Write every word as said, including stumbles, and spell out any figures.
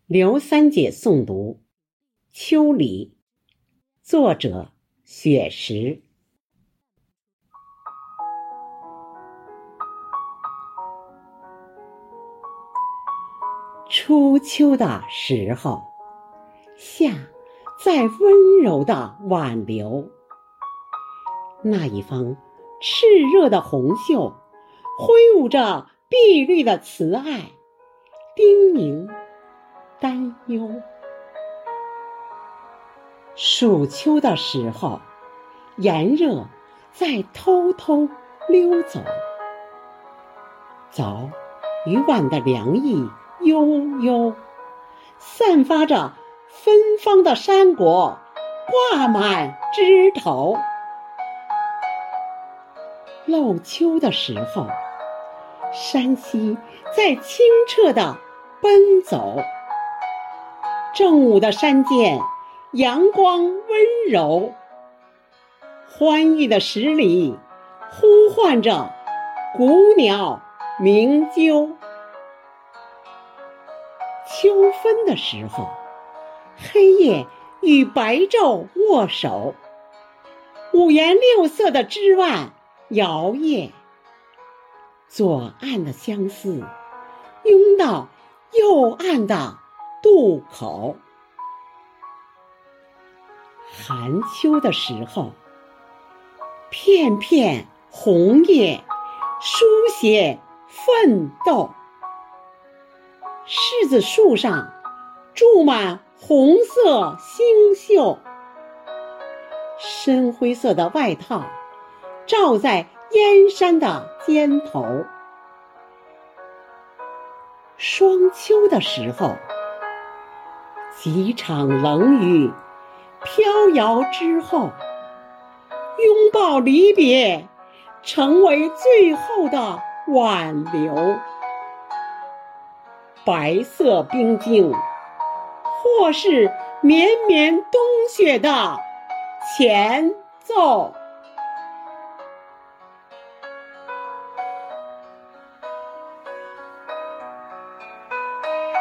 刘三姐诵读《秋里》，作者雪石。初秋的时候，夏在温柔地挽留，那一方炽热的红袖挥舞着碧绿的慈爱，叮咛担忧。暑秋的时候，炎热在偷偷溜走，早已晚的凉意悠悠，散发着芬芳的山果挂满枝头。漏秋的时候，山溪在清澈地奔走，正午的山间阳光温柔，欢愉的十里呼唤着古鸟鸣啾。秋分的时候，黑夜与白昼握手，五颜六色的枝蔓摇曳，左岸的相思拥到右岸的渡口。寒秋的时候，片片红叶书写奋斗，柿子树上住满红色星宿，深灰色的外套罩在燕山的肩头。霜秋的时候，几场冷雨飘摇之后，拥抱离别成为最后的挽留。白色冰晶或是绵绵冬雪的前奏。